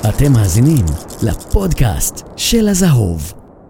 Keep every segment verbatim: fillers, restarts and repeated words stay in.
אתם מאזינים לפודקאסט של הזהוב.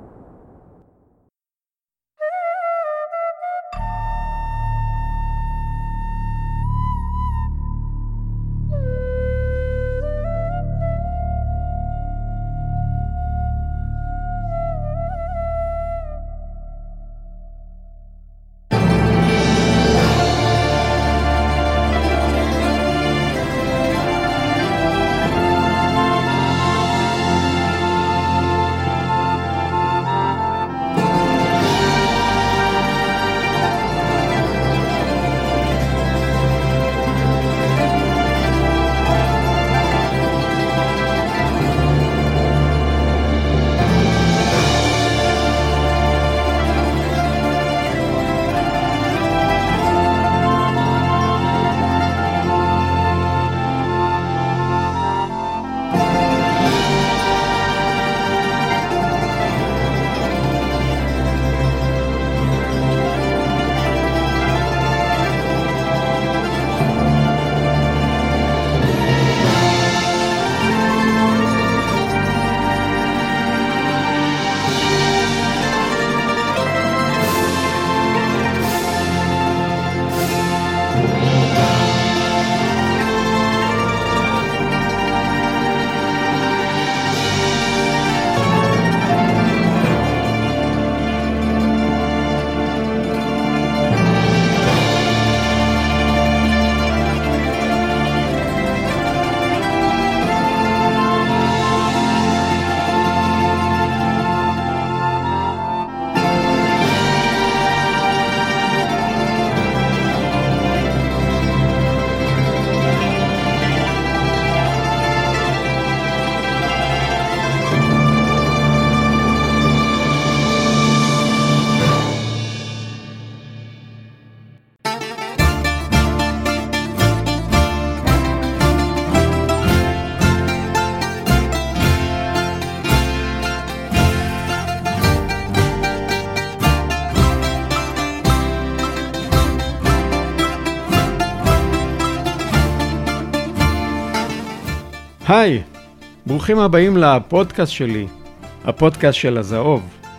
היי, ברוכים הבאים לפודקאסט שלי, הפודקאסט של הזהוב.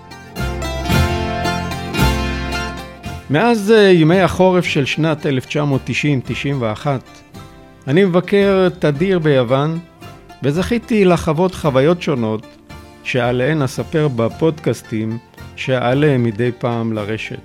מאז ימי החורף של שנת אלף תשע מאות תשעים תשעים ואחת, אני מבקר תדיר ביוון, וזכיתי לחוות חוויות שונות שעליהן אספר בפודקאסטים שעלה מדי פעם לרשת.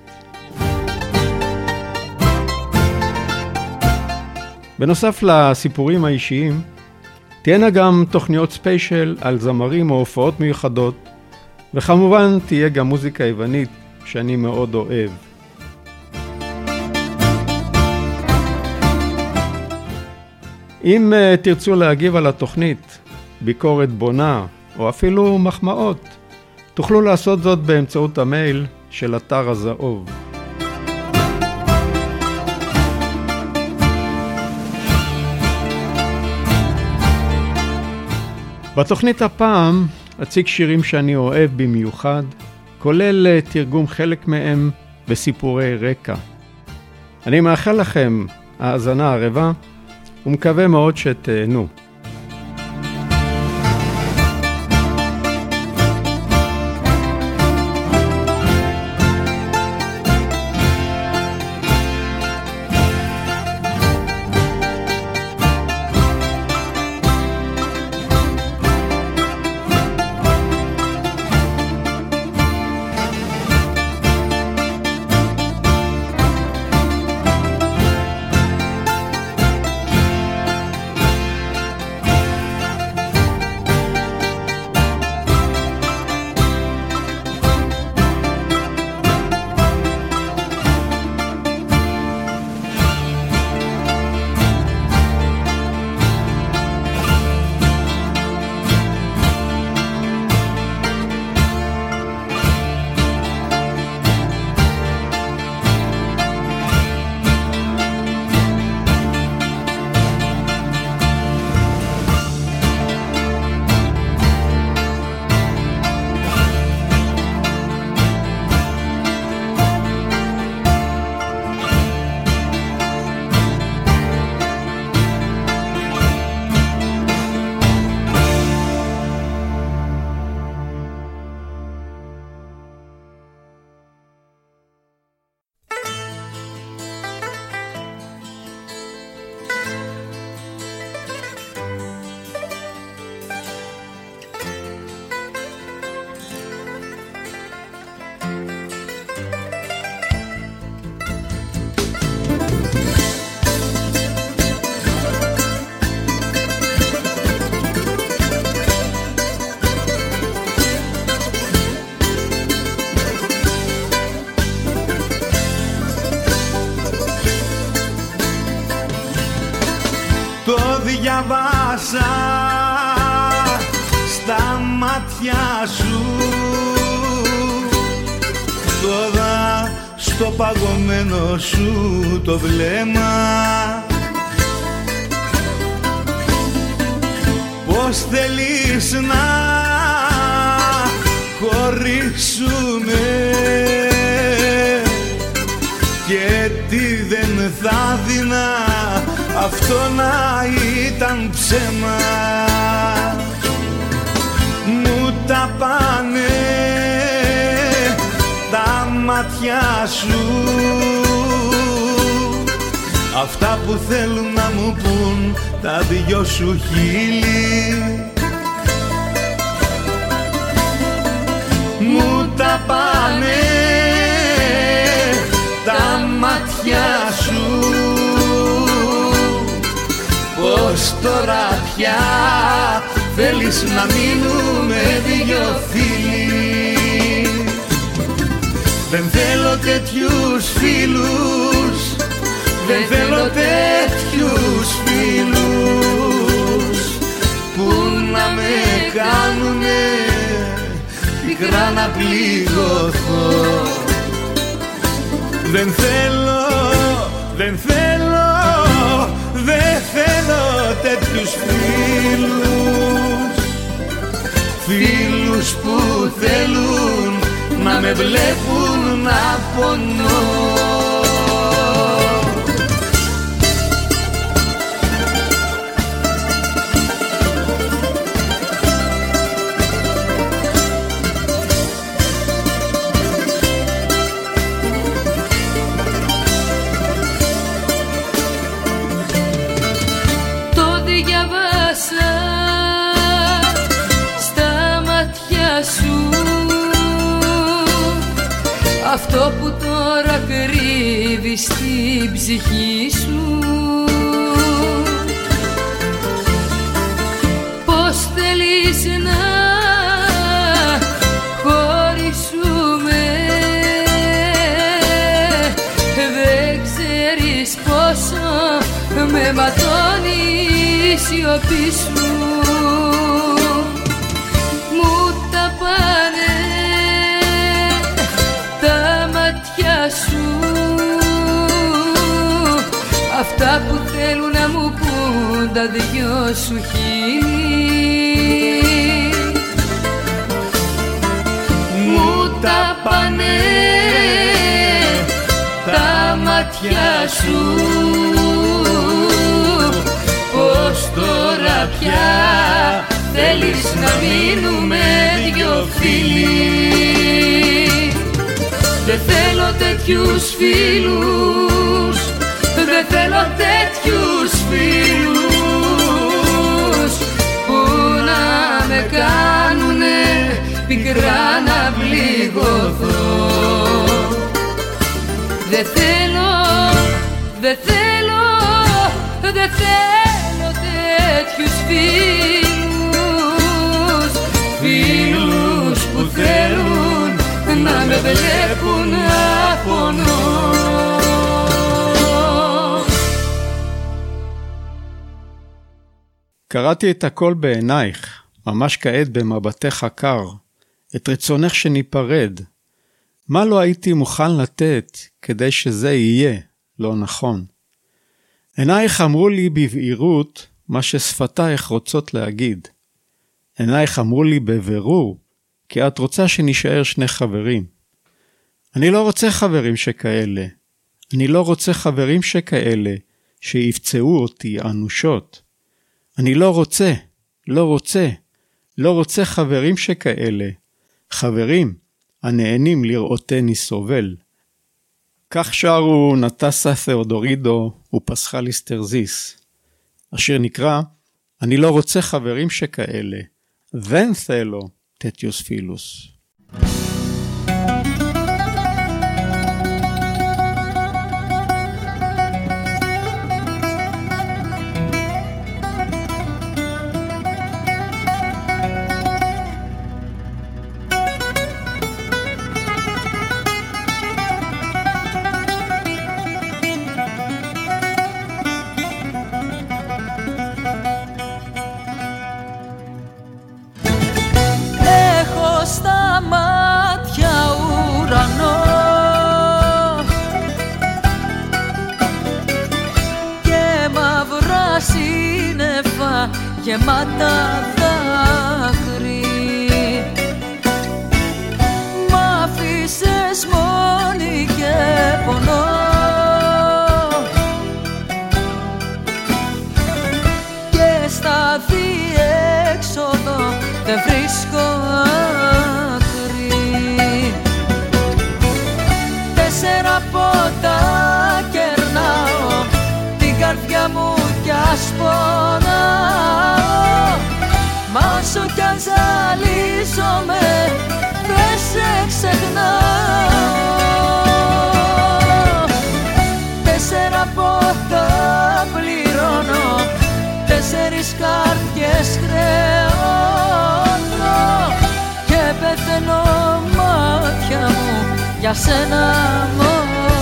בנוסף לסיפורים האישיים, תהיינה גם תוכניות ספיישל על זמרים או הופעות מיוחדות, וכמובן תהיה גם מוזיקה יוונית שאני מאוד אוהב. אם uh, תרצו להגיב על התוכנית, ביקורת בונה או אפילו מחמאות, תוכלו לעשות זאת באמצעות המייל של אתר הזהוב. בתוכנית הפעם אציג שירים שאני אוהב במיוחד, כולל תרגום חלק מהם בסיפורי רקע. אני מאחל לכם האזנה ערבה ומקווה מאוד שתהנו. διαβάσα στα μάτια σου, τώρα στο παγωμένο σου το βλέμμα. Πώς θέλεις να χωρίσουμε και τι δεν θα δεινά αυτό να ήταν ψέμα. Μου τα πάνε τα μάτια σου, αυτά που θέλουν να μου πουν τα δυο σου χείλη. Μου τα πάνε τα μάτια σου, πως τώρα πια θέλεις να μείνουμε δυο φίλοι. Δεν θέλω τέτοιους φίλους, δεν θέλω τέτοιους φίλους που να με κάνουνε πικρά να πληγωθώ. Δεν θέλω, δεν θέλω, δεν θέλω τέτοιους φίλους, φίλους που θέλουν να με βλέπουν να πονώ. Αυτό που τώρα κρύβεις στην ψυχή σου, πως θέλεις να χωρίσουμε, δεν ξέρεις πόσο με ματώνει η σιωπή σου. Μου τα πάνε σου, αυτά που θέλουν να μου πουν τα δυο σου χείλη. Μου τα πάνε τα μάτια σου, πως τώρα πια θέλεις να μείνουμε δυο φίλοι. Δεν θέλω τέτοιους φίλους, δεν θέλω τέτοιους φίλους που να με κάνουνε πικρά να πληγωθώ. Δεν θέλω, δεν θέλω, δεν θέλω τέτοιους φίλους, φίλους που θέλουν να με βλέπουν να πονώ. קראתי את הכל בעינייך, ממש כעת במבטך הקר, את רצונך שניפרד. מה לא הייתי מוכן לתת כדי שזה יהיה לא נכון? עינייך אמרו לי בבהירות מה ששפתייך רוצות להגיד. עינייך אמרו לי בבירור כי את רוצה שנשאר שני חברים. אני לא רוצה חברים שכאלה. אני לא רוצה חברים שכאלה שיפצעו אותי אנושות. אני לא רוצה, לא רוצה, לא רוצה חברים שכאלה. חברים הנהנים לראותני סובל. כך שרו נטסה תאודורידו ופסחליס טרזיס. השיר נקרא, אני לא רוצה חברים שכאלה. Δεν θέλω τέτοιους φίλους. γεμάτα δάκρυ. Μ' άφησες μόνη και πονώ, και στα διέξοδο δεν βρίσκω άκρη. Τέσσερα ποτά κερνάω, την καρδιά μου κι ας πονάω, μα όσο κι αν ζαλίζομαι δεν σε ξεχνάω. Τέσσερα ποτά πληρώνω, τέσσερις καρδιές χρεώνω, και πεθαίνω μάτια μου για σένα μόνο.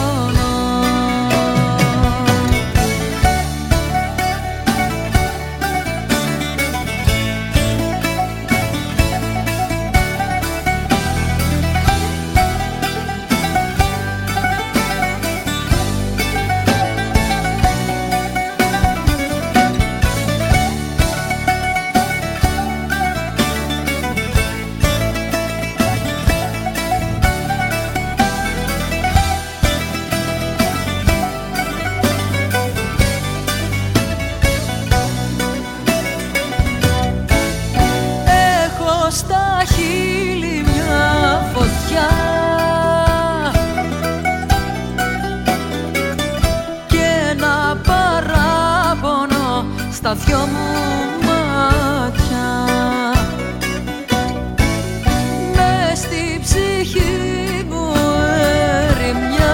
Στα δυο μου μάτια, μες στη ψυχή μου ερημιά,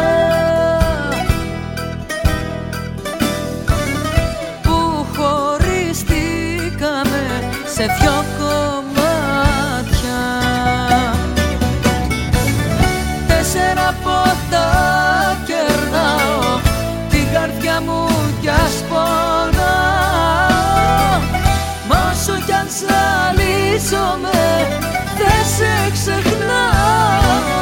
που χωριστήκαμε σε δυο κομμάτια. Τέσσερα ποτά κερνάω, την καρδιά μου κι ας πονάω, μα όσο κι αν ζαλίζομαι δεν σε ξεχνάω.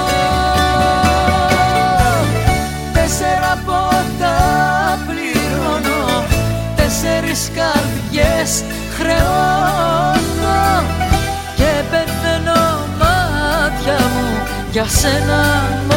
Τέσσερα ποτά πληρώνω, τέσσερις καρδιές χρεώνω, και πεθαίνω μάτια μου για σένα μόνο.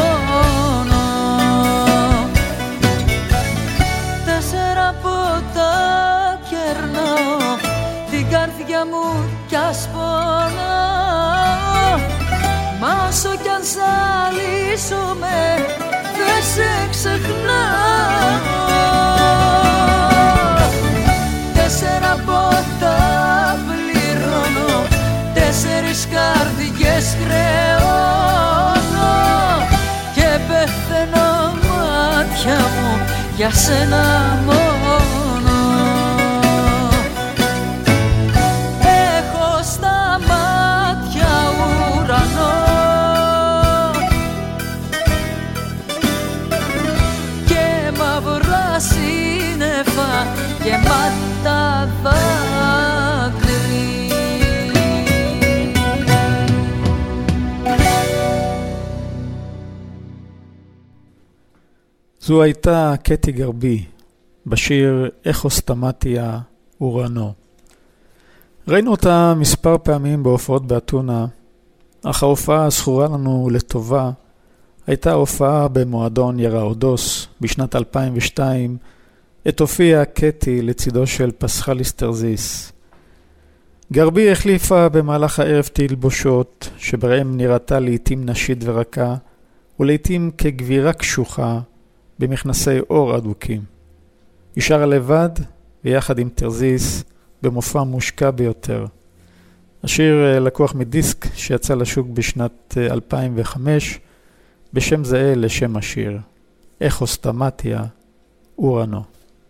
Τέσσερα ποτά κερνάω, την καρδιά μου κι ας πονάω, μα όσο κι αν ζαλίζομαι δεν σε ξεχνάω. Τέσσερα ποτά πληρώνω, τέσσερις καρδιές χρεώνω, και πεθαίνω μάτια μου για σένα μόνο. Έχω στα μάτια ουρανό και μαύρα σύννεφα γεμάτα δάκρυ. זו הייתה קטי גרבי בשיר "איך סתמתיה אורנו". ראינו אותה מספר פעמים בהופעות באתונה, אך ההופעה הזכורה לנו לטובה הייתה הופעה במועדון יראודוס בשנת אלפיים ושתיים, עת הופיעה קטי לצידו של פסחליס תרזיס. גרבי החליפה במהלך הערב תלבושות שבהם נראתה לעתים נשית ורכה, ולעתים כגבירה קשוחה במכנסי אור אדוקים. היא שרה לבד ויחד עם תרזיס במופע מושקע ביותר. השיר לקוח מדיסק שיצא לשוק בשנת אלפיים וחמש בשם זהה לשם השיר, "איך סתמתיה אורנו".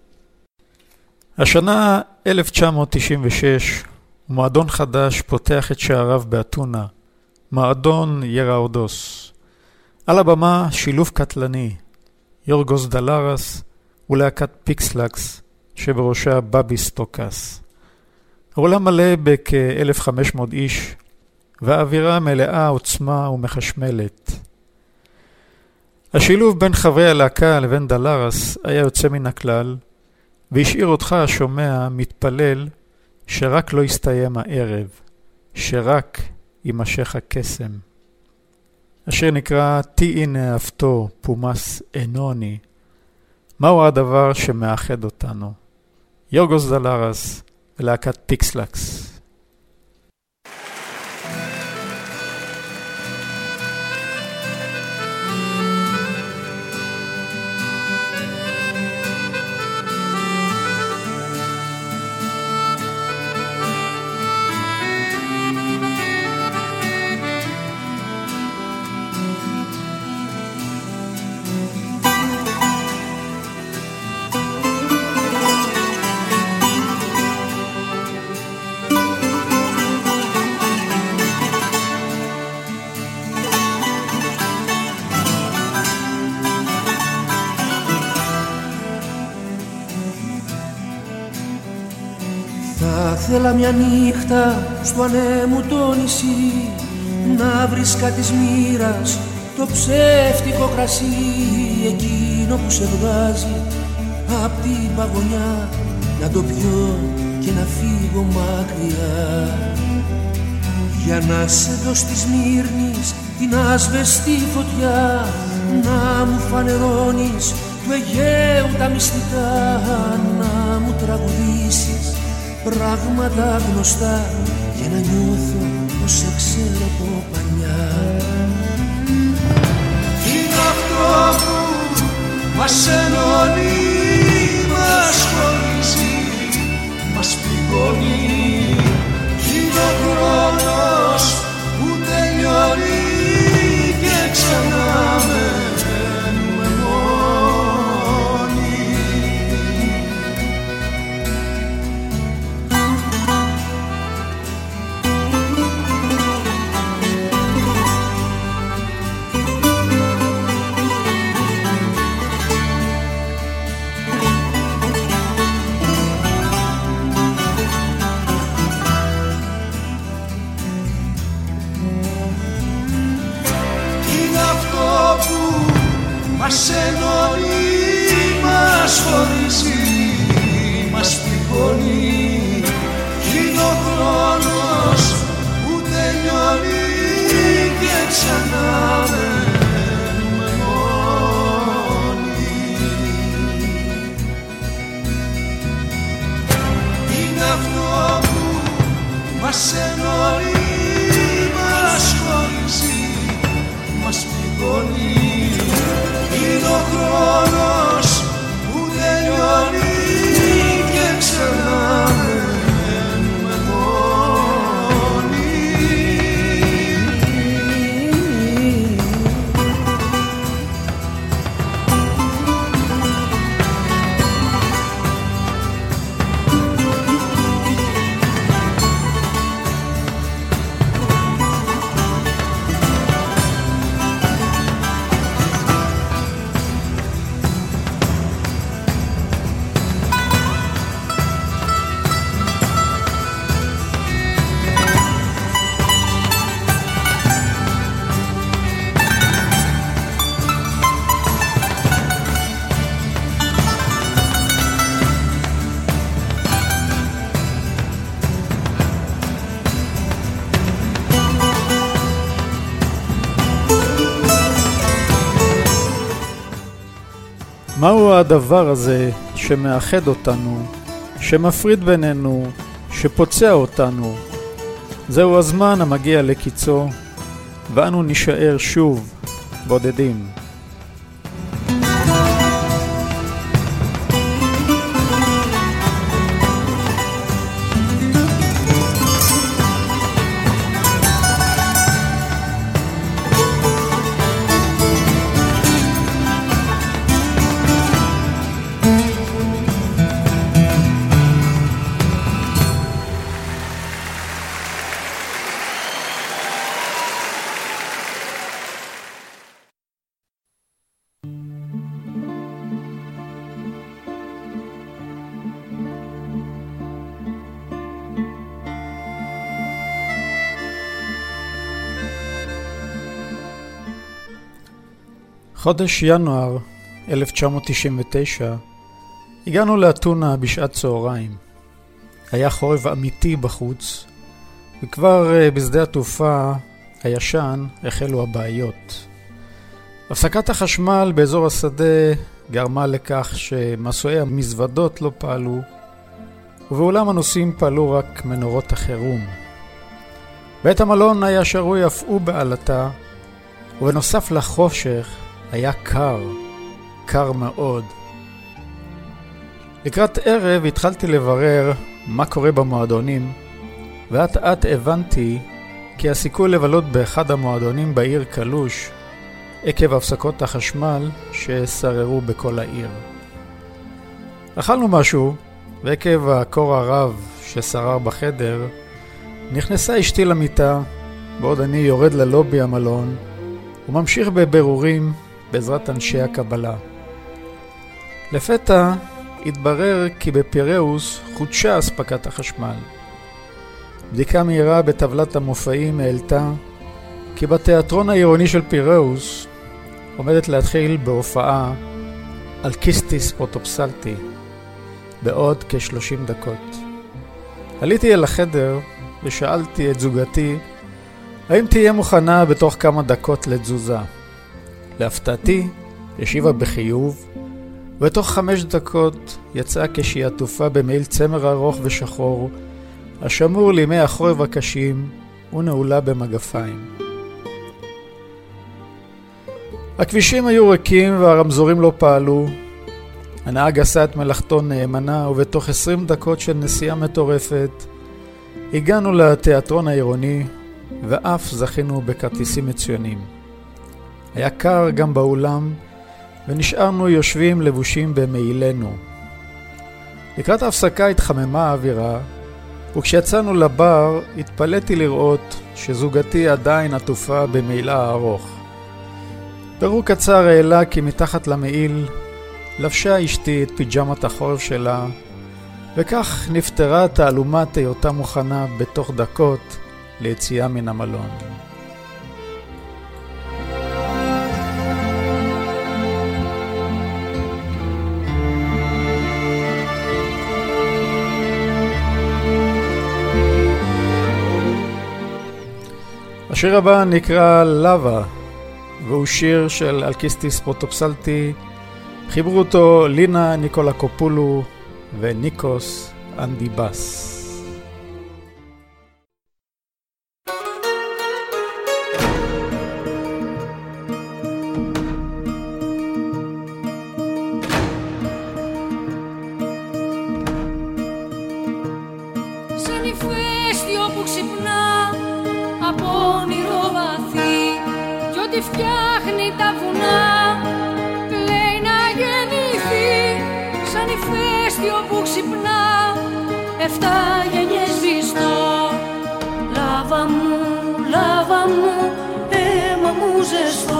השנה אלף תשע מאות תשעים ושש, מועדון חדש פותח את שעריו באתונה, מועדון יראודוס. על הבמה שילוב קטלני, יורגוס דלרס ולהקת פיקסלקס שבראשה בבי סטוקס. העולם מלא בכ-אלף וחמש מאות איש, והאווירה מלאה עוצמה ומחשמלת. השילוב בין חברי הלהקה לבין דלרס היה יוצא מן הכלל, והשאיר אותך השומע מתפלל שרק לא יסתיים הערב, שרק יימשך הקסם. השיר נקרא "תהי נאהבתו פומס אנוני". מהו הדבר שמאחד אותנו? יורגוס דלרס ולהקת פיקסלקס. Θέλα μια νύχτα στο ανέμου το νησί να βρίσκα της μοίρας το ψεύτικο κρασί, εκείνο που σε βγάζει απ' την παγωνιά, να το πιω και να φύγω μακριά. Για να σε δω στη Σμύρνης την άσβεστη φωτιά, να μου φανερώνεις του Αιγαίου τα μυστικά, να μου τραγουδήσεις πράγματα γνωστά και να νιώθω πως σε ξέρω από παλιά. Είναι αυτό που μας ενώνει, μας χωρίζει, μας πληγώνει. Είναι ο χρόνος που τελειώνει και ξανά μένουμε μόνοι. Μας ενώνει, μας χωρίζει, μας πληγώνει. Είναι ο χρόνος που τελειώνει και ξανά μένουμε μόνοι. Είναι αυτό που μας ενώνει, μας χωρίζει, μας πληγώνει. Είναι ο χρόνος που τελειώνει και ξανά μένουμε μόνοι. מהו הדבר הזה שמאחד אותנו, שמפריד בינינו, שפוצע אותנו? זהו הזמן המגיע לקיצו, ואנו נשאר שוב בודדים. חודש ינואר אלף תשע מאות תשעים ותשע, הגענו לאתונה בשעת צהריים. היה חורף אמיתי בחוץ, וכבר בשדה התעופה הישן החלו הבעיות. הפסקת החשמל באזור השדה גרמה לכך שמסועי המזוודות לא פעלו, ובאולם הנוסעים פעלו רק מנורות החירום. בית המלון היה שרוי אף הוא בעלתה, ובנוסף לחושך היה קר, קר מאוד. לקראת ערב התחלתי לברר מה קורה במועדונים, ואת עת הבנתי כי הסיכוי לבלות באחד המועדונים בעיר קלוש, עקב הפסקות החשמל ששררו בכל העיר. אכלנו משהו, ועקב הקור הרב ששרר בחדר, נכנסה אשתי למיטה, בעוד אני יורד ללובי המלון, וממשיך בבירורים בעזרת אנשי הקבלה. לפתע התברר כי בפיראוס חודשה אספקת החשמל. בדיקה מהירה בטבלת המופעים העלתה כי בתיאטרון העירוני של פיראוס עומדת להתחיל בהופעה אלכיסטיס פרוטופסלטי בעוד כ-שלושים דקות. עליתי אל החדר ושאלתי את זוגתי האם תהיה מוכנה בתוך כמה דקות לתזוזה. להפתעתי השיבה בחיוב, ובתוך חמש דקות יצאה כשהיא עטופה במעיל צמר ארוך ושחור השמור לימי החורף הקשים ונעולה במגפיים. הכבישים היו ריקים והרמזורים לא פעלו. הנהג עשה את מלאכתו נאמנה, ובתוך עשרים דקות של נסיעה מטורפת הגענו לתיאטרון העירוני, ואף זכינו בכרטיסים מצוינים. היה קר גם באולם, ונשארנו יושבים לבושים במעילנו. לקראת ההפסקה התחממה האווירה, וכשיצאנו לבר התפלאתי לראות שזוגתי עדיין עטופה במעילה ארוך. בירור קצר העלה כי מתחת למעיל לבשה אשתי את פיג'מת החורף שלה, וכך נפטרה תעלומת היותה מוכנה בתוך דקות ליציאה מן המלון. השיר הבא נקרא לבה, והוא שיר של אלכיסטיס פרוטופסלטי. חיברו אותו לינה ניקולקופולו וניקוס אנדיבאס. Σαν ηφαίστειο που ξυπνά από όνειρο βαθύ κι ό,τι φτιάχνει τα βουνά κλαίει να γεννηθεί. Σαν ηφαίστειο που ξυπνά εφτά γενιές βυστό. Λάβα μου, λάβα μου, αίμα μου ζεστό.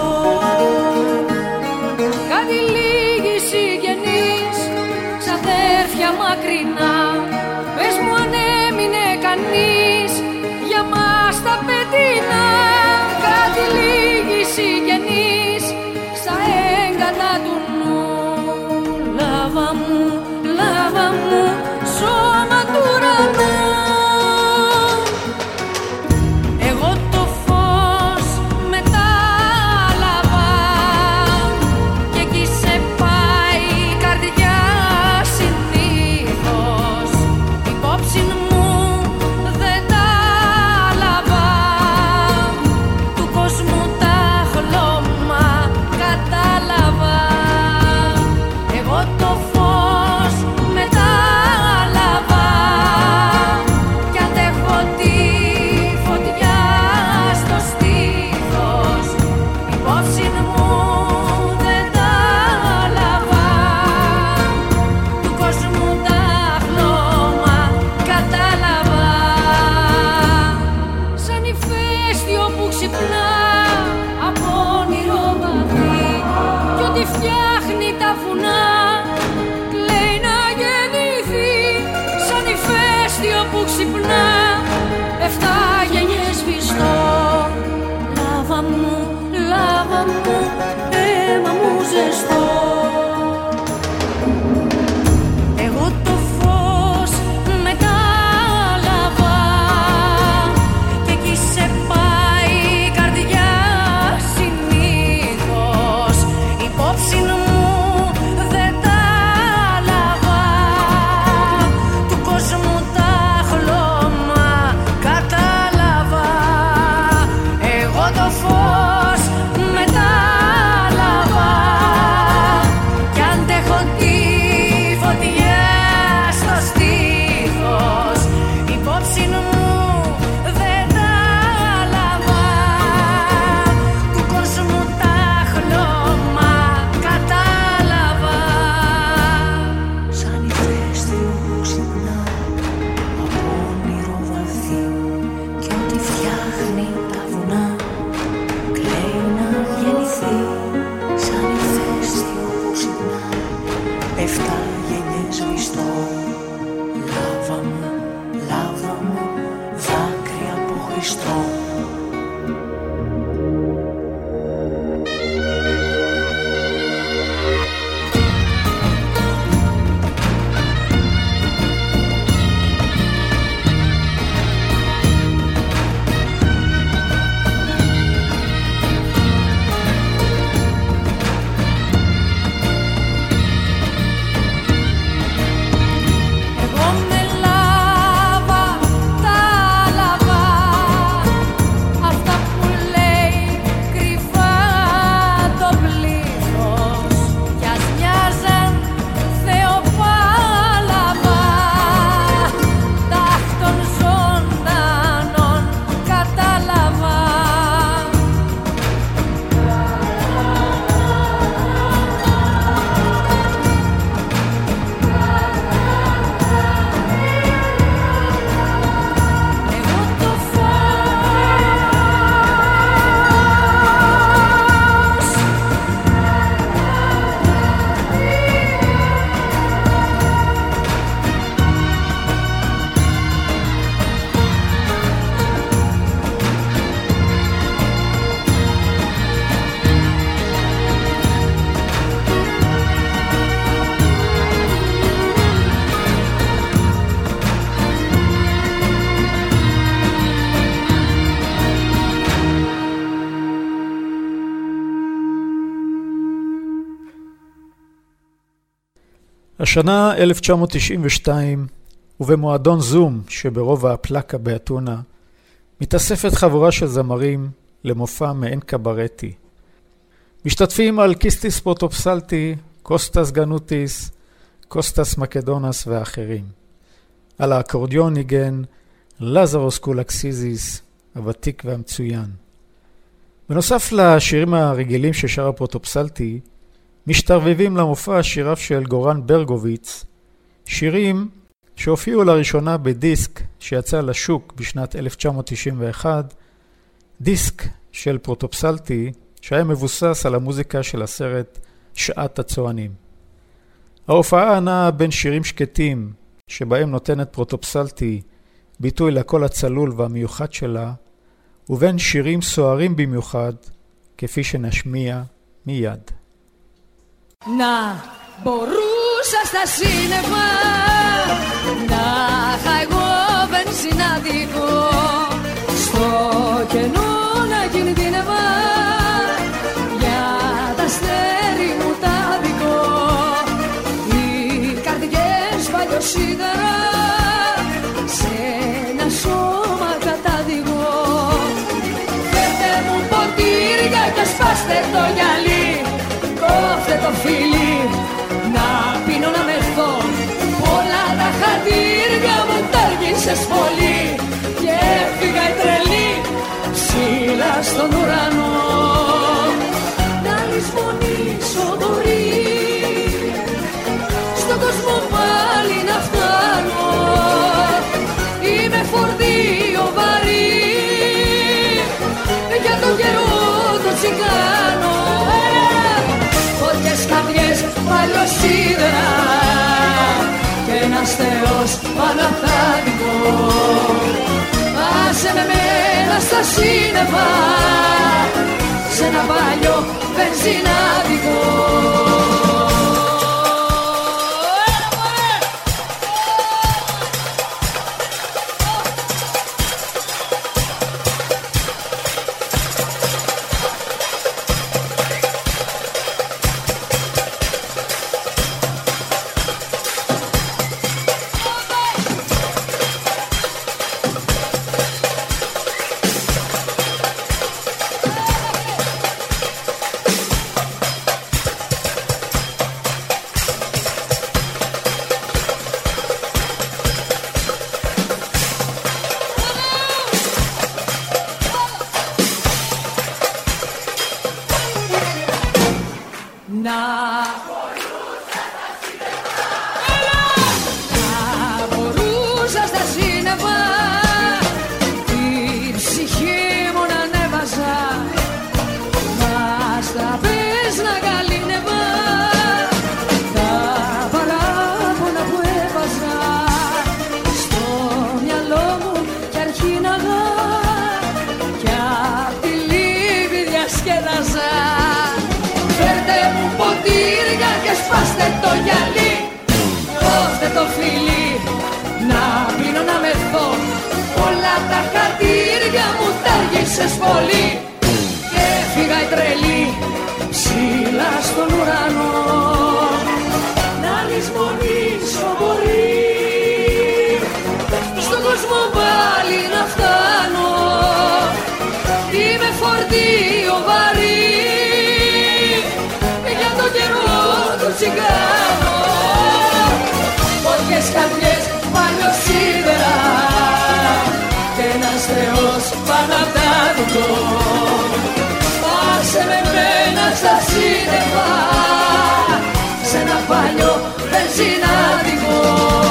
Κάτι λίγοι συγγενείς, ξαδέρφια μακρινά, πες μου αν έμεινε κανείς για μας τα πετεινά. Κάτι λίγοι συγγενείς στα έγκατα του νου. Λάβα μου, λάβα μου, σώμα του ουρανού. Εγώ το φως μετάλαβα και εκεί σε πάει η καρδιά συνήθως. Υπόψη μου δεν τα λάβα, του κόσμου τα χλώμα κατάλαβα. Εγώ το φως μετάλαβα λάβα μου, λάβα μου, δάκρυα από Χριστό. השנה אלף תשע מאות תשעים ושתיים, ובמועדון זום שברובע הפלקה באתונה, מתאספת חבורה של זמרים למופע מעין קברטי. משתתפים על קיסטיס פרוטופסלטי, קוסטס גנוטיס, קוסטס מקדונס ואחרים. על האקורדיון ניגן לזרוס קולקסיזיס, הוותיק והמצוין. בנוסף לשירים הרגילים ששר הפרוטופסלטי, משתרבבים למופע שיריו של גורן ברגוביץ, שירים שהופיעו לראשונה בדיסק שיצא לשוק בשנת אלף תשע מאות תשעים ואחת, דיסק של פרוטופסלטי שהיה מבוסס על המוזיקה של הסרט שעת הצוענים. ההופעה נעה בין שירים שקטים שבהם נותנת פרוטופסלטי ביטוי לקול הצלול והמיוחד שלה, ובין שירים סוערים במיוחד כפי שנשמיע מיד. Να μπορούσα στα σύννεφα να είχα εγώ βενζινάδικο, στο κενό να κινδύνευα για τα αστέρι μου τα δικό. Οι καρδιές παλιοσίδερα σε ένα σώμα κατάδικο. Φέρτε μου ποτήρια και σπάστε το γυαλί, κόφτε το φίλι, να πίνω να μεθώ. Όλα τα χατήρια μου τάργησες πολύ και έφυγα η τρελή ψηλά στον ουρανό. Να λησμονήσω μπορεί, στον κόσμο πάλι να φτάνω. Είμαι φορτίο βαρύ για το καιρό το τσιγάνο. Φωτιές, καρδιές, παλιοσίδερα και ένας Θεός παναθάδικο. Άσε με μένα στα σύννεφα σε ένα παλιό βενζινάδικο. το φιλί, να πίνω να μεθώ. Όλα τα χατήρια μου τα άργησες πολύ. Και έφυγα η τρελή ψηλά στον ουρανό, να λησμονήσω μπορεί στον κόσμο πάλι να φτάνω. Είμαι φορτίο βαρύ για τον καιρό του τσιγκάνο. Πότιες καρδιές παλιοσίδερα και ένας Θεός πάνω απ' τα δικό. Πάσε με μένα στα σύννεφα σε ένα παλιό βενζινάδικο.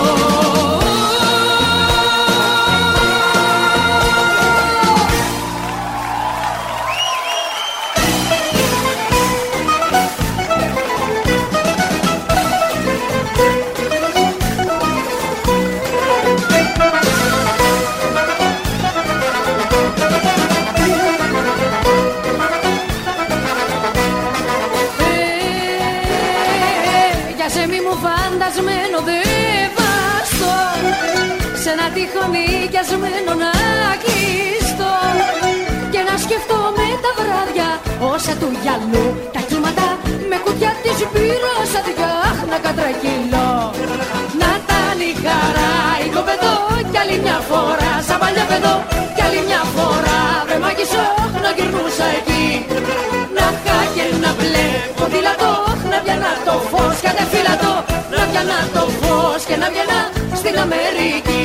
Φαντασμένο δεν βάστο, σε ένα τείχο νοικιασμένο να κλειστώ και να σκεφτόμαι τα βράδια όσα του γυαλού τα κύματα με κουτιά της μπύρας αδειάχ να κατρακυλώ. Να ήταν η χαρά οικοπεδό κι άλλη μια φορά σαν παλιά παιδό κι άλλη μια φορά βρε μάγισσο να γυρνούσα εκεί. Να είχα και να βλέπω ποδήλατο, να πιάνα το φως κατεφύλατο, να πιάνα το φως και να βγαίνα στην Αμερική.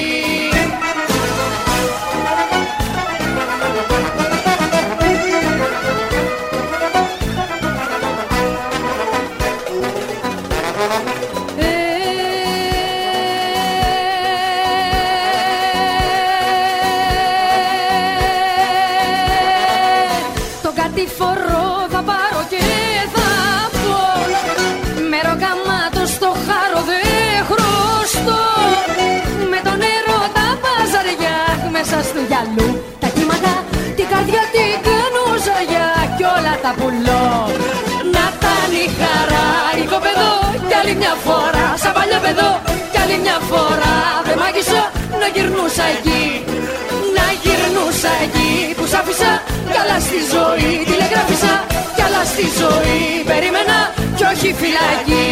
Του γυαλού τα κύματα, την καρδιά την κάνω ζαγιά κι όλα τα πουλώ. Να ήταν η χαρά οικοπεδό κι άλλη μια φορά σαν παλιό παιδό κι άλλη μια φορά βρε μάγισσο να γυρνούσα εκεί. Να γυρνούσα εκεί που σ' άφησα κι άλλα στη ζωή τηλεγράφησα κι άλλα στη ζωή περίμενα κι όχι φυλακή.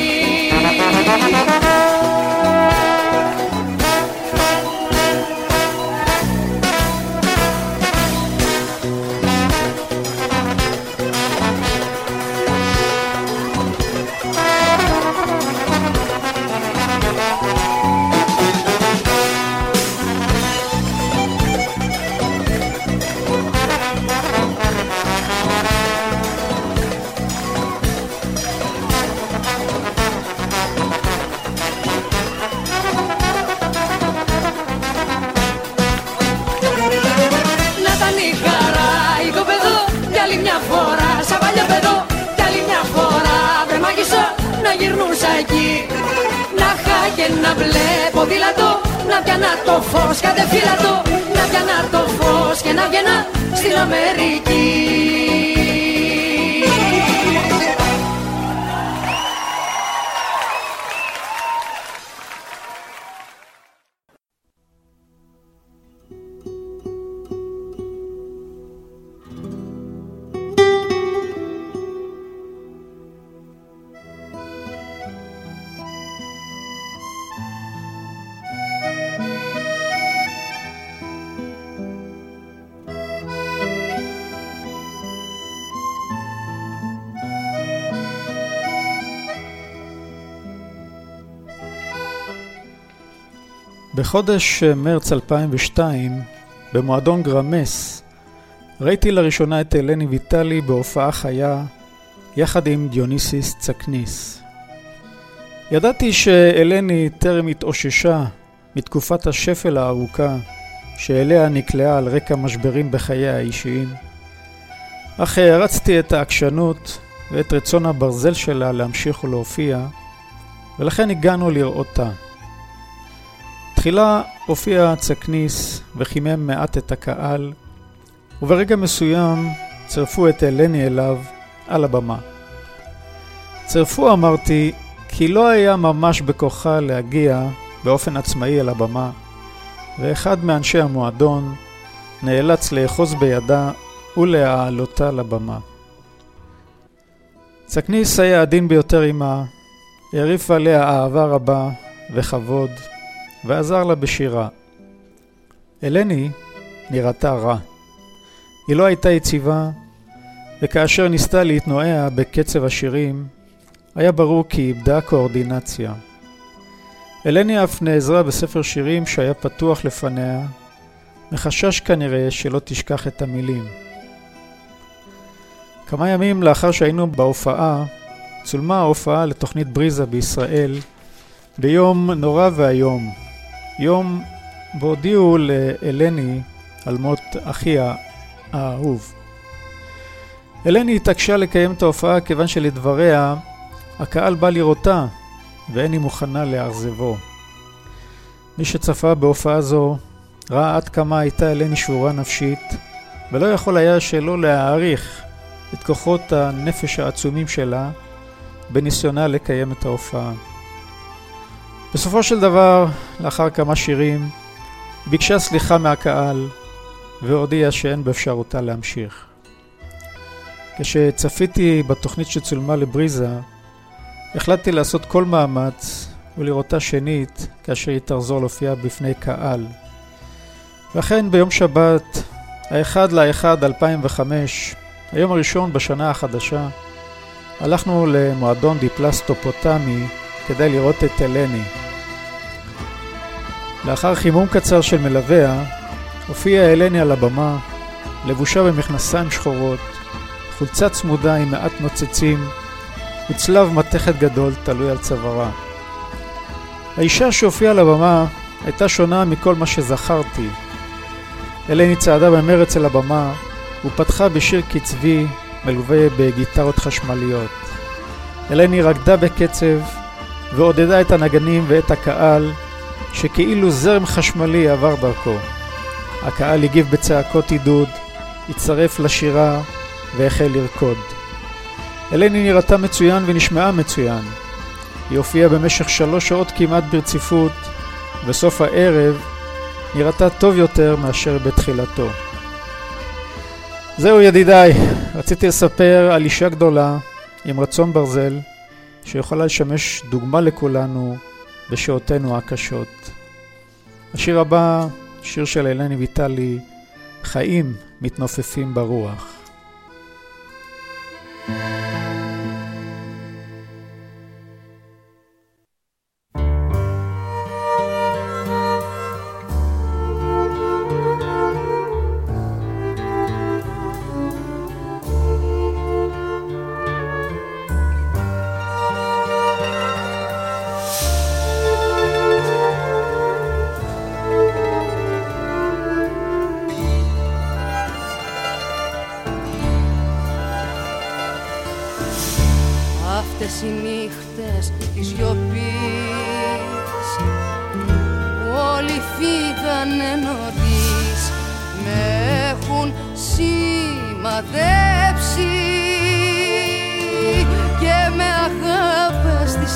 Να βλέπω ποδήλατο, να πιάνα το φως κατεφύλατο, να πιάνα το φως και να βγαίνα στην Αμερική. בחודש מרץ אלפיים ושתיים, במועדון גרמס, ראיתי לראשונה את אלני ויטלי בהופעה חיה, יחד עם דיוניסיס צקניס. ידעתי שאלני טרם התאוששה מתקופת השפל הארוכה, שאליה נקלעה על רקע משברים בחיי האישיים, אך הרצתי את העקשנות ואת רצון הברזל שלה להמשיך ולהופיע, ולכן הגענו לראותה. תחילה הופיע צקניס וחימם מעט את הקהל, וברגע מסוים צרפו את אלני אליו על הבמה. צרפו אמרתי, כי לא היה ממש בכוחה להגיע באופן עצמאי אל הבמה, ואחד מאנשי המועדון נאלץ לאחוז בידה ולהעלותה לבמה. צקניס היה עדין ביותר עמה, העריף עליה אהבה רבה וכבוד, ועזר לה בשירה. אלני נראתה רע. היא לא הייתה יציבה, וכאשר ניסתה להתנועע בקצב השירים, היה ברור כי איבדה קואורדינציה. אלני אף נעזרה בספר שירים שהיה פתוח לפניה, מחשש כנראה שלא תשכח את המילים. כמה ימים לאחר שהיינו בהופעה, צולמה ההופעה לתוכנית בריזה בישראל, ביום נורא והיום. יום בו הודיעו לאלני על מות אחיה האהוב. אלני התעקשה לקיים את ההופעה כיוון שלדבריה הקהל בא לראותה ואין היא מוכנה לאכזבו. מי שצפה בהופעה זו ראה עד כמה הייתה אלני שבורה נפשית, ולא יכול היה שלא להעריך את כוחות הנפש העצומים שלה בניסיונה לקיים את ההופעה. בסופו של דבר, לאחר כמה שירים, ביקשה סליחה מהקהל והודיעה שאין באפשרותה להמשיך. כשצפיתי בתוכנית שצולמה לבריזה, החלטתי לעשות כל מאמץ ולראותה שנית כאשר היא תחזור להופיע בפני קהל. ואכן ביום שבת, האחד לאחד אלפיים וחמש, היום הראשון בשנה החדשה, הלכנו למועדון דיפלס טופוטמי כדי לראות את אלני. לאחר חימום קצר של מלוויה, הופיעה אלני על הבמה, לבושה במכנסיים שחורות, חולצה צמודה עם מעט נוצצים, וצלב מתכת גדול תלוי על צווארה. האישה שהופיעה על הבמה הייתה שונה מכל מה שזכרתי. אלני צעדה במרץ אל הבמה, ופתחה בשיר קצבי מלווה בגיטרות חשמליות. אלני רקדה בקצב ועודדה את הנגנים ואת הקהל שכאילו זרם חשמלי עבר דרכו. הקהל הגיב בצעקות עידוד, הצטרף לשירה והחל לרקוד. אלני נראתה מצוין ונשמעה מצוין. היא הופיעה במשך שלוש שעות כמעט ברציפות, וסוף הערב נראתה טוב יותר מאשר בתחילתו. זהו ידידיי, רציתי לספר על אישה גדולה עם רצון ברזל שיכולה לשמש דוגמה לכולנו בשעותינו הקשות. השיר הבא, שיר של אלני ויטלי, חיים מתנופפים ברוח. Αυτές οι νύχτες της σιωπής όλοι φύγανε νωρίς, με έχουν σημαδέψει και με αγάπες της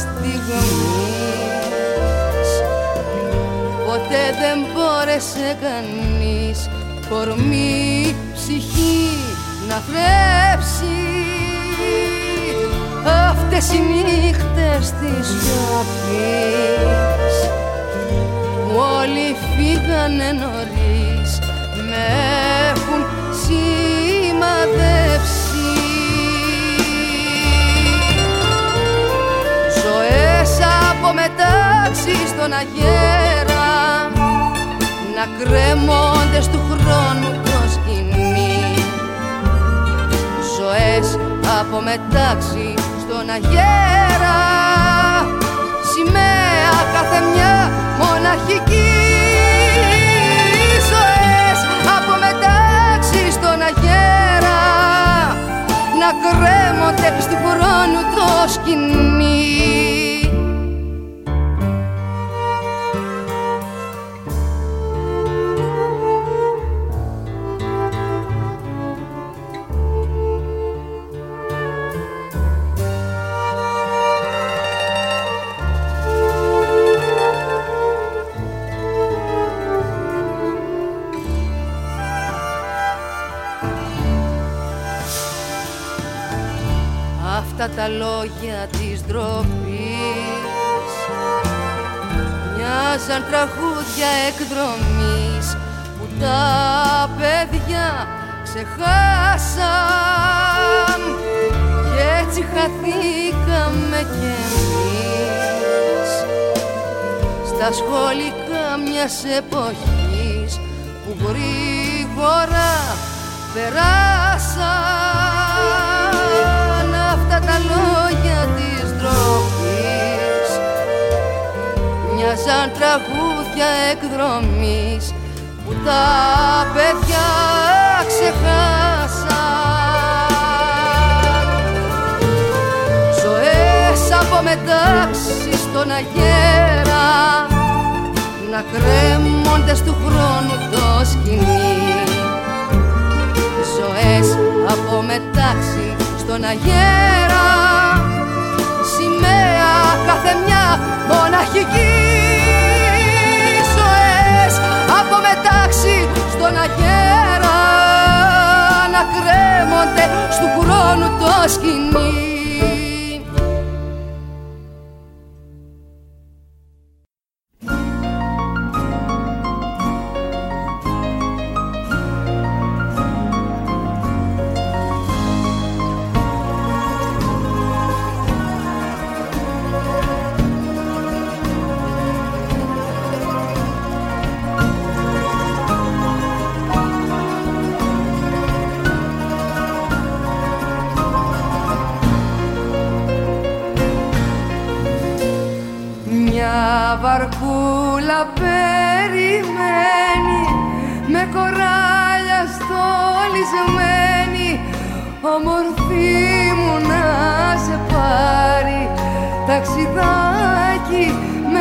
στιγμής. Ποτέ δεν μπόρεσε κανείς κορμί ψυχή να θρέψει. Αυτές οι νύχτες της σιωπής όλοι φύγανε νωρίς, με έχουν σημαδεύσει. Ζωές από μετάξι στον αγέρα να κρέμονται του χρόνου το σκηνή. Ζωές από μετάξι στον αγέρα, σημαία κάθε μια μοναχική. Ζωές από μετάξι στον αγέρα να κρέμονται του χρόνου το σκηνή. αυτά τα λόγια της ντροπής μοιάζαν τραγούδια εκδρομής που τα παιδιά ξεχάσαν κι έτσι χαθήκαμε κι εμείς στα σχολικά μιας εποχής που γρήγορα περάσαν αυτά τα λόγια της ντροπής μοιάζαν τραγούδια εκδρομής που τα παιδιά ξεχάσαν ζωές από μετάξι στον αγέρα να κρέμονται στου χρόνου το σκηνή ζωές από μετάξι στον αγέρα σημαία κάθε μια μοναχική ζωές από μετάξι στον αγέρα να κρέμονται στου χρόνου το σκηνή. Βαρκούλα περιμένει με κοράλια στολισμένη ομορφή μου να σε πάρει ταξιδάκι με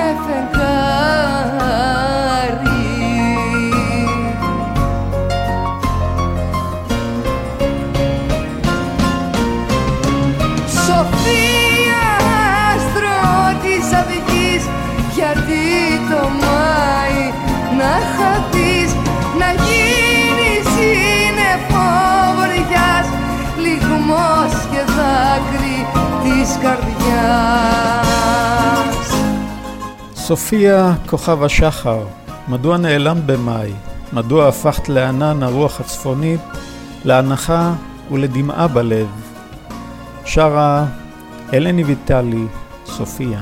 φεγγάρι. Σοφία άστρο της αυγής γιατί το Μάη να χαθείς, να γίνεις σύννεφο βοριάς, λυγμός και δάκρυ της καρδιάς. סופיה כוכב השחר, מדוע נעלם במאי? מדוע הפכת לענן הרוח הצפונית, להנחה ולדמעה בלב? שרה אלני ויטלי, סופיה.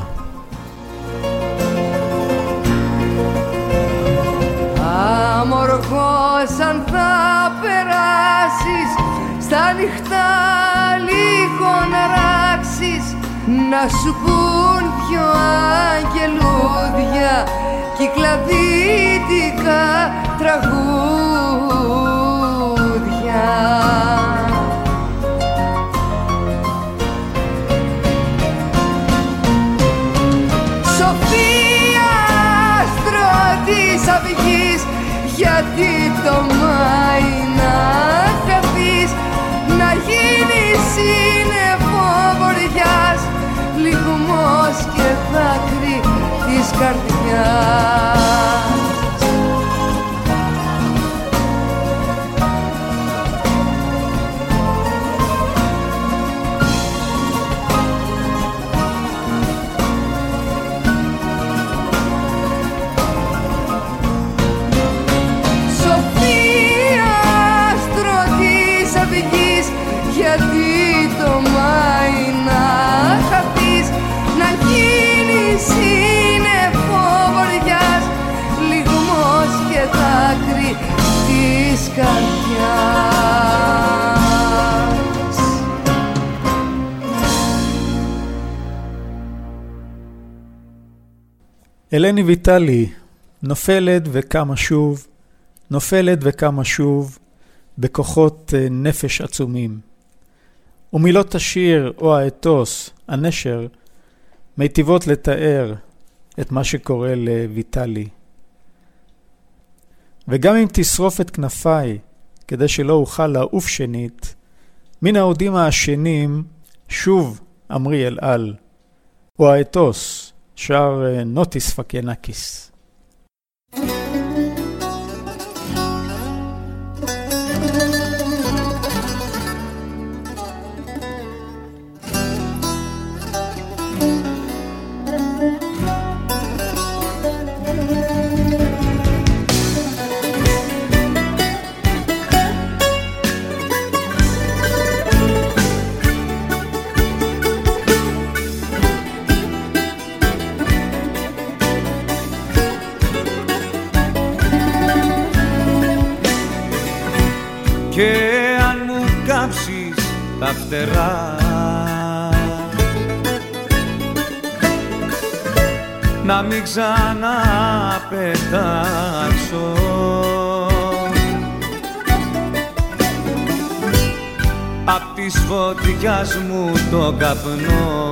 Αμορφός αν θα περάσεις στα νυχτά λίγο να ράξεις, να σου πουν δυο αγγελούδια κυκλαδίτικα τραγούδια. Σοφία άστρο της αυγής, γιατί το Μάη να χαθείς, να γίνεις σύννεφο βοριάς, λυγμός και δάκρυ της καρδιάς. Γιατί το Μάη να χαθείς, να γίνεις σύννεφο βοριάς, λυγμός και δάκρυ της καρδιάς. אלני ויטלי, נופלת וקמה שוב, נופלת וקמה שוב, בכוחות נפש עצומים. ומילות השיר או האתוס, הנשר, מיטיבות לתאר את מה שקורה לויטלי. וגם אם תשרוף את כנפיי, כדי שלא אוכל לעוף שנית, מן העודים העשנים, שוב אמרי אל על, או האתוס, שר נוטיס פקינקיס. και αν μου κάψεις τα φτερά να μην ξαναπετάξω απ' της φωτιάς μου το καπνό.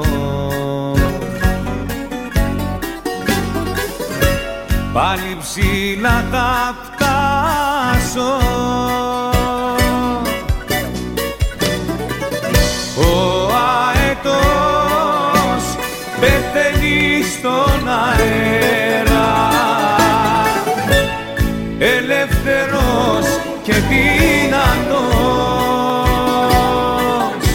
Πάλι ψηλά θα φτάσω, ο αετός πεθαίνει στον αέρα, ελεύθερος και δυνατός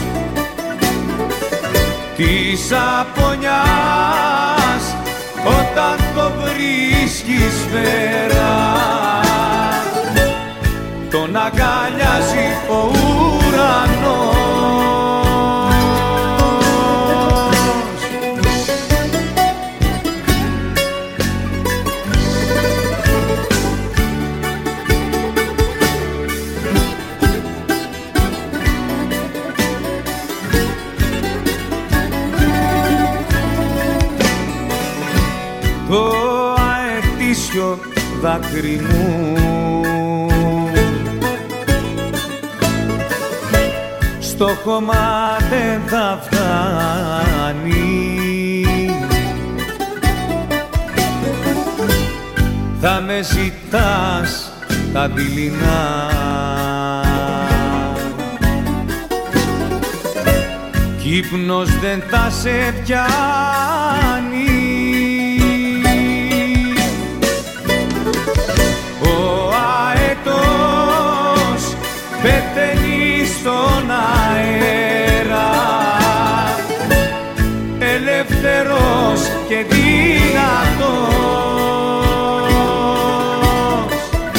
της απονιάς όταν το βρίσκεις πέρα, τον αγκαλιάζει ο ουρανός. Το αετήσιο δάκρυ μου στο χώμα δεν θα φτάνει, θα με ζητάς τα δειλινά κι ύπνος δεν θα σε πιάνει. Πεθαίνει στον αέρα, ελεύθερος και δυνατός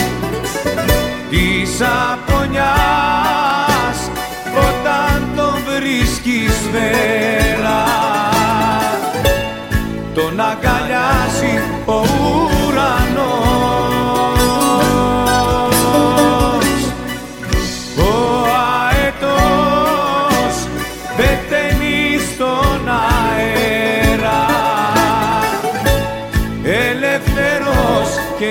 της απονιάς όταν τον βρίσκεις πέρα, τον αγκαλιάζει ο ουρανός. Και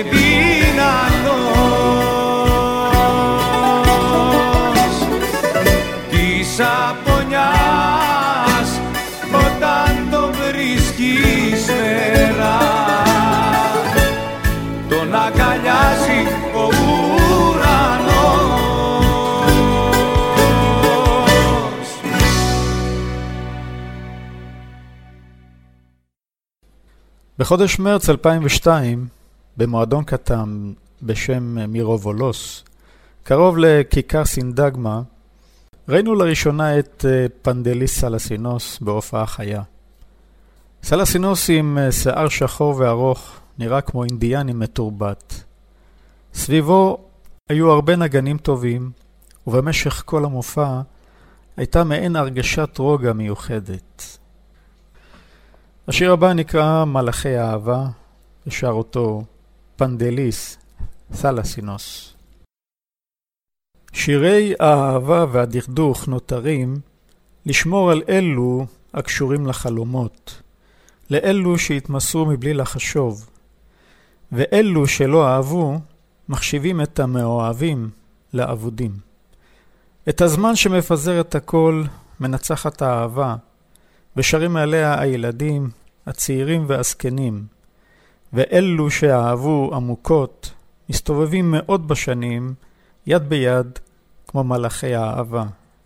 δυνατός της απονιάς όταν τον βρίσκεις πέρα, τον αγκαλιάζει ο ουρανός. בחודש מרץ אלפיים ושתיים במועדון קטן בשם מירובולוס, קרוב לכיכר סינדגמה, ראינו לראשונה את פנדליס סלסינוס בהופעה חיה. סלסינוס עם שיער שחור וארוך, נראה כמו אינדיאני מתורבת. סביבו היו הרבה נגנים טובים, ובמשך כל המופע הייתה מעין הרגשת רוגע מיוחדת. השיר הבא נקרא מלאכי האהבה, ושר אותו פנדליס סלסינוס. שירי האהבה והדכדוך נותרים לשמור על אלו הקשורים לחלומות, לאלו שהתמסרו מבלי לחשוב, ואלו שלא אהבו מחשיבים את המאוהבים לאבודים. את הזמן שמפזר את הכל מנצחת האהבה, ושרים עליה הילדים, הצעירים והזקנים, ואלו שאהבו עמוקות מסתובבים מאוד בשנים יד ביד כמו מלאכי האהבה.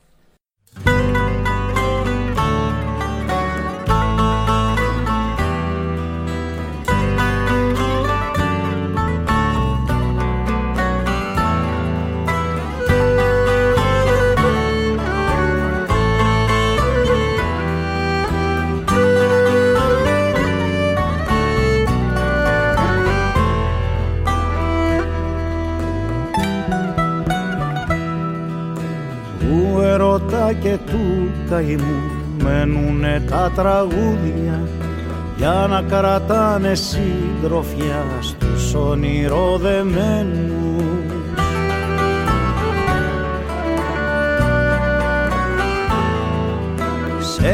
Και του καημού μένουνε τα τραγούδια για να κρατάνε συντροφιά στους ονειροδεμένους.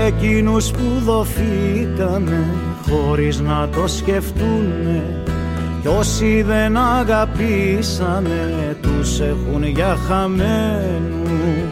εκείνους που δοθήκανε χωρίς να το σκεφτούνε, κι όσοι δεν αγαπήσανε τους έχουν για χαμένους.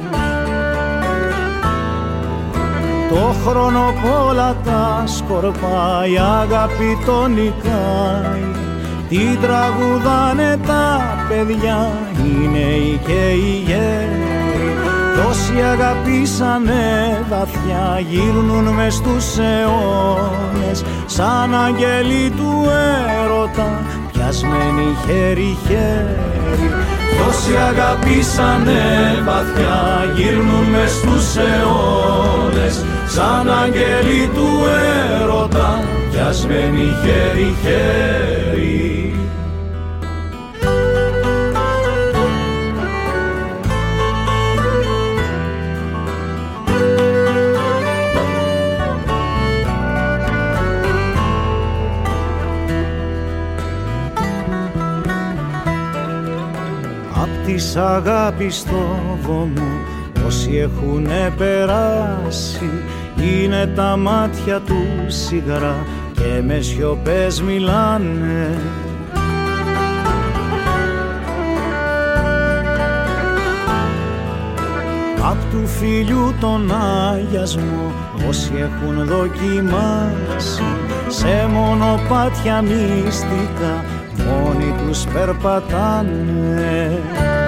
Το χρόνο πολλά τα σκορπάει, η αγάπη τον νικάει, τι τραγουδάνε τα παιδιά, οι νέοι και οι γέροι. Κι όσοι αγαπήσανε βαθιά γύρνουν μες στους αιώνες, σαν αγγέλοι του έρωτα πιασμένοι χέρι-χέρι. Κι όσοι αγαπήσανε βαθιά γύρνουν μες στους αιώνες, σαν αγγέλοι του έρωτα πιασμένοι χέρι-χέρι. Της αγάπης στο βωμό όσοι έχουνε περάσει, είναι τα μάτια του σιγαρά και με σιωπές μιλάνε. Απ' του φίλιου τον αγιασμό όσοι έχουν δοκιμάσει, σε μονοπάτια μυστικά μόνοι τους περπατάνε.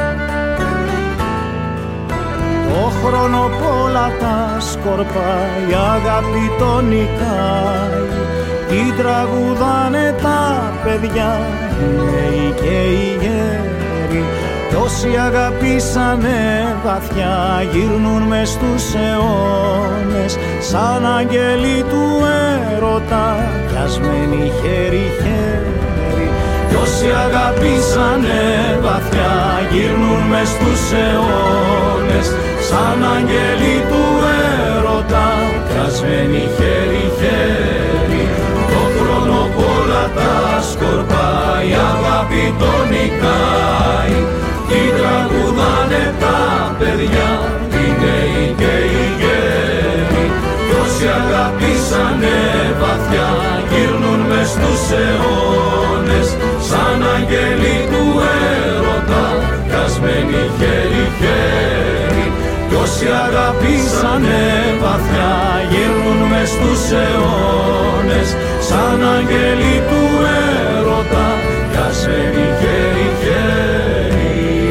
Το χρόνο πολλά τα σκορπάει, η αγάπη τον νικάει, τι τραγουδάνε τα παιδιά, οι νέοι και οι γέροι. Κι όσοι αγαπήσανε βαθιά γύρνουν μες στους αιώνες, σαν αγγέλοι του έρωτα πιασμένοι χέρι-χέρι. Κι όσοι αγαπήσανε βαθιά γύρνουν μες στους αιώνες, σαν αγγέλοι του έρωτα πιασμένοι χέρι-χέρι. Το χρόνο πολλά τα σκορπάει, η αγάπη τον νικάει, τι τραγουδάνε τα παιδιά, οι νέοι και οι γέροι. Κι όσοι αγαπήσανε βαθιά γύρνουν μες στους αιώνες, σαν αγγέλοι του έρωτα πιασμένοι χέρι-χέρι. Κι όσοι αγαπήσανε βαθιά γύρνουν μες στους αιώνες, σαν αγγέλοι του έρωτα πιασμένοι χέρι-χέρι.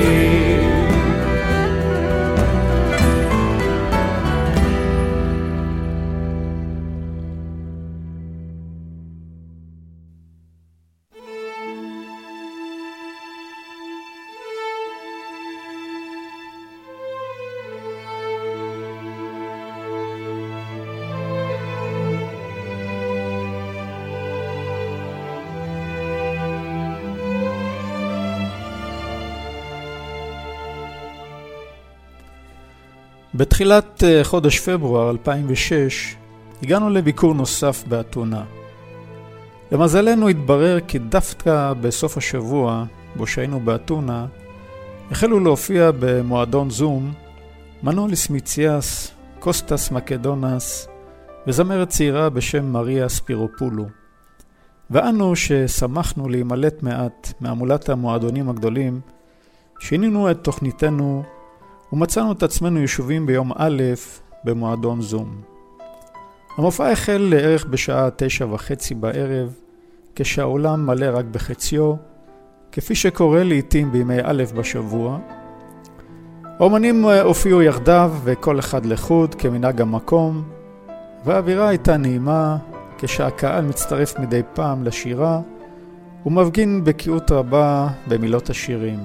בתחילת חודש פברואר אלפיים ושש הגענו לביקור נוסף באתונה. למזלנו התברר כי דווקא בסוף השבוע בו שהיינו באתונה החלו להופיע במועדון זום מנוליס מיציאס, קוסטס מקדונס וזמרת צעירה בשם מריה ספירופולו. ואנו ששמחנו להימלט מעט מעמולת המועדונים הגדולים, שינינו את תוכניתנו ומצאנו את עצמנו ישובים ביום א' במועדון זום. המופע החל לערך בשעה תשע וחצי בערב, כשהעולם מלא רק בחציו, כפי שקורה לעתים בימי א' בשבוע. האומנים הופיעו יחדיו וכל אחד לחוד כמנהג המקום, והאווירה הייתה נעימה כשהקהל מצטרף מדי פעם לשירה ומפגין בקיאות רבה במילות השירים.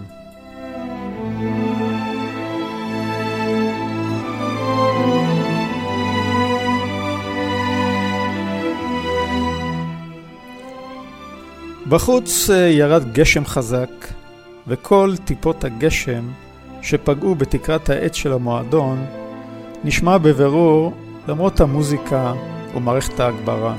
בחוץ ירד גשם חזק, וכל טיפות הגשם שפגעו בתקרת העץ של המועדון נשמע בבירור למרות המוזיקה ומערכת ההגברה.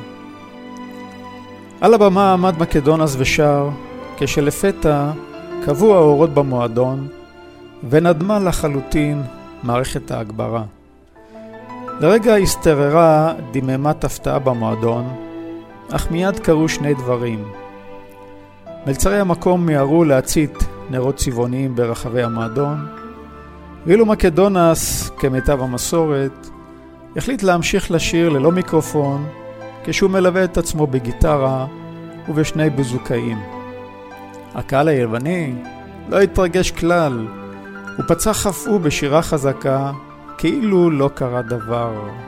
על הבמה עמד מקדונס ושר, כשלפתע קבעו האורות במועדון ונדמה לחלוטין מערכת ההגברה. לרגע הסתררה דממת הפתעה במועדון, אך מיד קרו שני דברים. מלצרי המקום מיהרו להצית נרות צבעוניים ברחבי המועדון, ואילו מקדונס, כמיטב המסורת, החליט להמשיך לשיר ללא מיקרופון, כשהוא מלווה את עצמו בגיטרה ובשני בוזוקאים. הקהל היווני לא התרגש כלל, הוא פצח אף הוא בשירה חזקה, כאילו לא קרה דבר.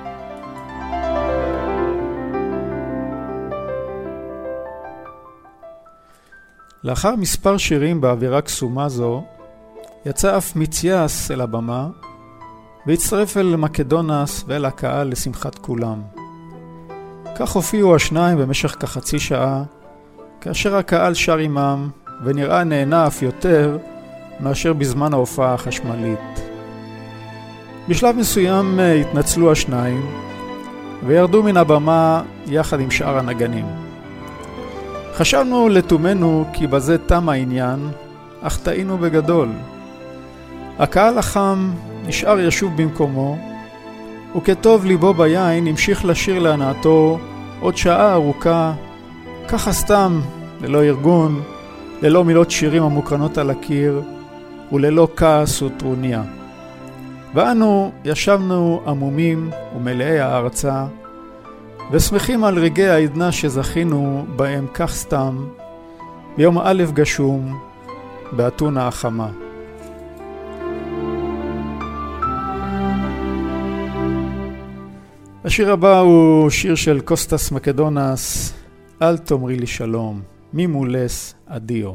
לאחר מספר שירים באווירה קסומה זו, יצא אף מציאס אל הבמה, והצטרף אל מקדונס ואל הקהל לשמחת כולם. כך הופיעו השניים במשך כחצי שעה, כאשר הקהל שר עמם, ונראה נהנה אף יותר מאשר בזמן ההופעה החשמלית. בשלב מסוים התנצלו השניים, וירדו מן הבמה יחד עם שאר הנגנים. חשבנו לתומנו כי בזה תם העניין, אך טעינו בגדול. הקהל החם נשאר ישוב במקומו, וכטוב ליבו ביין המשיך לשיר להנאתו עוד שעה ארוכה, ככה סתם, ללא ארגון, ללא מילות שירים המוקרנות על הקיר, וללא כעס וטרוניה. ואנו ישבנו עמומים ומלאי הערצה, ושמחים על רגעי העדנה שזכינו בהם כך סתם, ביום א' גשום, באתונה החמה. השיר הבא הוא שיר של קוסטס מקדונס, אל תאמרי לי שלום, ממולס אדיו.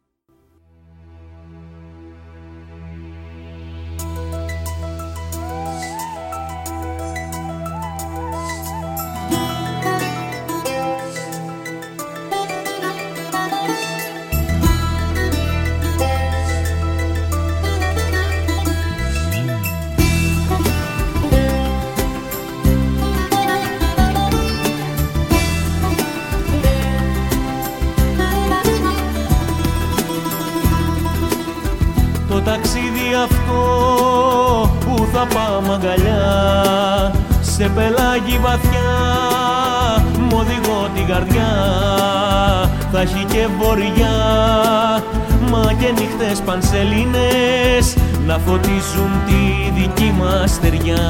ταξίδι αυτό που θα πάμε αγκαλιά σε πελάγι βαθιά μ' οδηγώ την καρδιά θα έχει και βορειά μα και νύχτες πανσελίνες να φωτίζουν τη δική μας στεριά.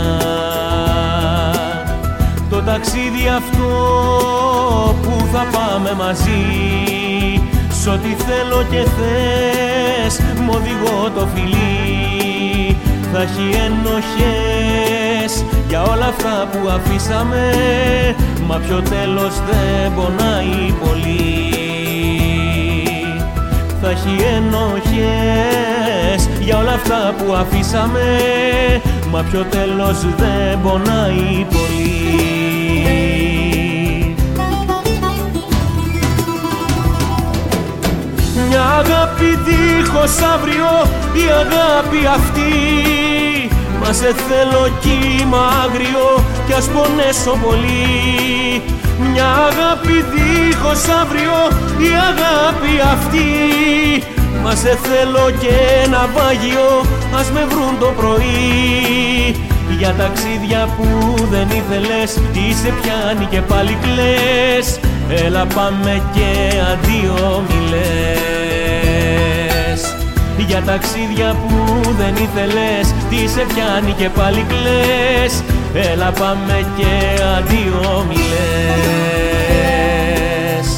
Το ταξίδι αυτό που θα πάμε μαζί σ' ό,τι θέλω και θες μ' οδηγώ το φιλί θα έχει ενοχές για όλα αυτά που αφήσαμε μα πιο τέλος δεν πονάει πολύ. Θα έχει ενοχές για όλα αυτά που αφήσαμε μα πιο τέλος δεν πονάει πολύ. Μια αγάπη δίχως αύριο, η αγάπη αυτή μα σε θέλω κύμα άγριο κι ας πονέσω πολύ. Μια αγάπη δίχως αύριο, η αγάπη αυτή μα σε θέλω και ένα βάγιο, ας με βρουν το πρωί. Για ταξίδια που δεν ήθελες, τι σε πιάνει και πάλι κλαις. Έλα πάμε και αντίο μη λες. Για ταξίδια που δεν ήθελες, τι σε πιάνει και πάλι κλαις. Έλα πάμε και αντίο μη λες.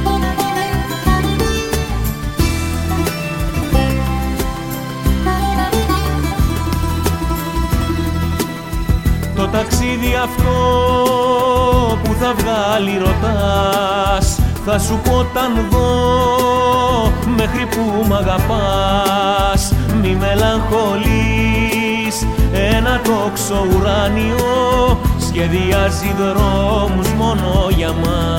Το ταξίδι αυτό που θα βγάλει ρωτάς, θα σου πω όταν δω μέχρι που μ' αγαπάς. Μη μελαγχολείς, ένα τόξο ουράνιο σχεδιάζει δρόμους μόνο για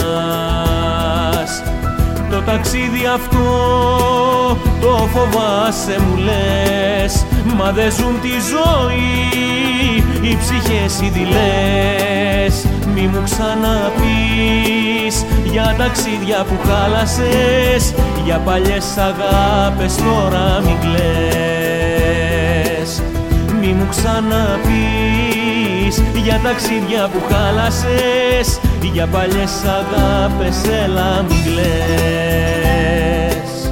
μας. Το ταξίδι αυτό το φοβάσαι μου λες, μα δεν ζουν τη ζωή οι ψυχές οι δειλές. Μη μου ξαναπείς για ταξίδια που χάλασες, για παλιές αγάπες τώρα μην κλαις. Μη μου ξαναπείς πεις, για ταξίδια που χάλασες, για παλιές αγάπες, έλα μην κλαις.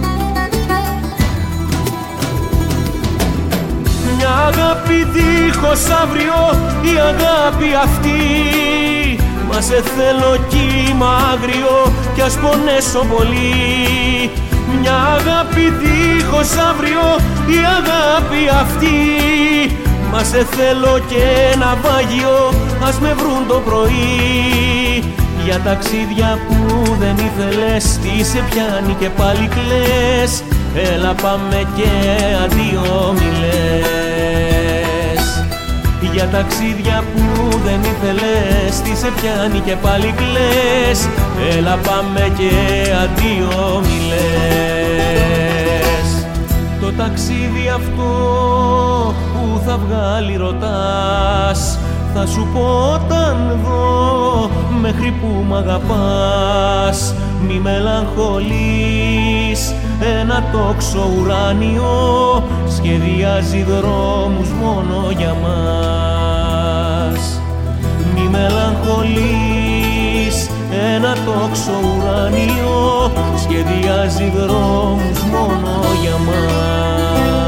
Μια αγάπη δίχως αύριο, η αγάπη αυτή, μα σε θέλω κύμα άγριο κι ας πονέσω πολύ. Μια αγάπη δίχως αύριο, η αγάπη αυτή, μα σε θέλω και ένα βάγιο, ας με βρουν το πρωί. Για ταξίδια που δεν ήθελες, τι σε πιάνει και πάλι κλαις, έλα πάμε και αντίο μη λες. Για ταξίδια που δεν ήθελες, τι σε πιάνει και πάλι κλαις, έλα πάμε και αντίο μη λες. Το ταξίδι αυτό που θα βγάλει ρωτάς, θα σου πω όταν δω μέχρι που μ' αγαπάς. Μη μελαγχολείς, ένα τόξο ουράνιο σχεδιάζει δρόμους μόνο για μας. Μη μελαγχολείς, ένα τόξο ουράνιο σχεδιάζει δρόμους μόνο για μας.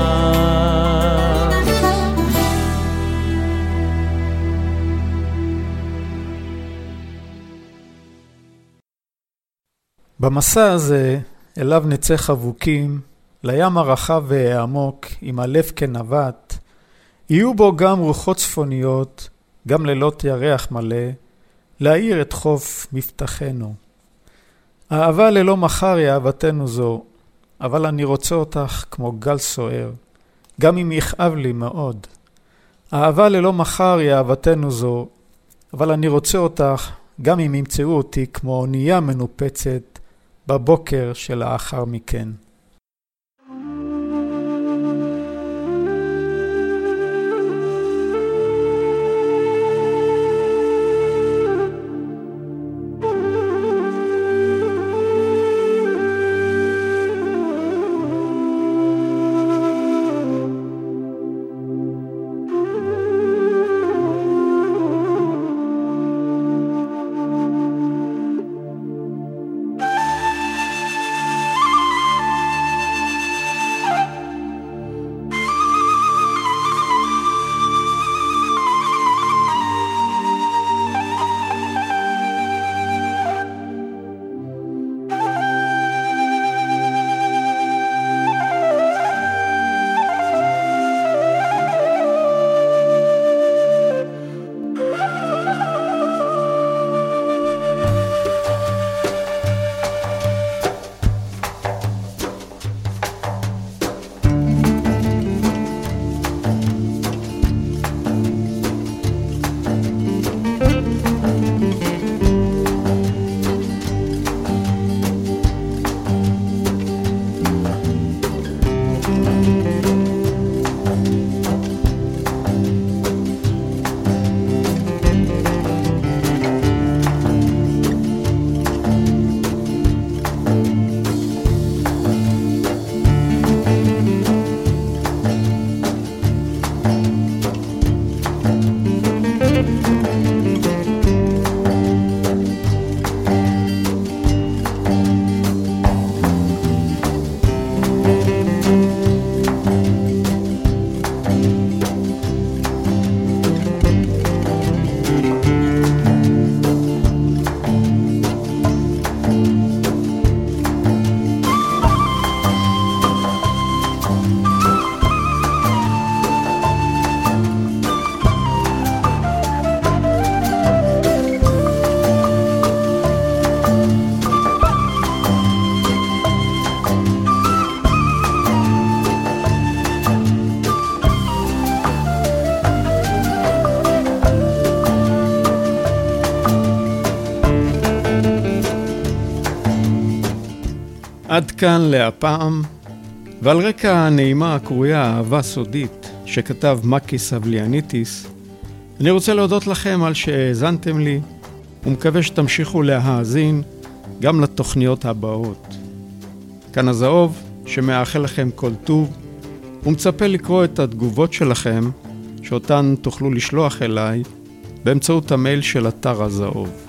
במסע הזה, אליו נצא חבוקים, לים הרחב והעמוק, עם הלב כנווט, יהיו בו גם רוחות צפוניות, גם לילות ירח מלא, להאיר את חוף מבטחנו. האהבה ללא מחר היא אהבתנו זו, אבל אני רוצה אותך כמו גל סוער, גם אם יכאב לי מאוד. האהבה ללא מחר היא אהבתנו זו, אבל אני רוצה אותך גם אם ימצאו אותי כמו אונייה מנופצת בבוקר שלאחר מכן. עד כאן להפעם, ועל רקע הנעימה הקרויה אהבה סודית שכתב מקיס אבליאניטיס, אני רוצה להודות לכם על שהאזנתם לי, ומקווה שתמשיכו להאזין גם לתוכניות הבאות. כאן הזהוב שמאחל לכם כל טוב, ומצפה לקרוא את התגובות שלכם שאותן תוכלו לשלוח אליי באמצעות המייל של אתר הזהוב.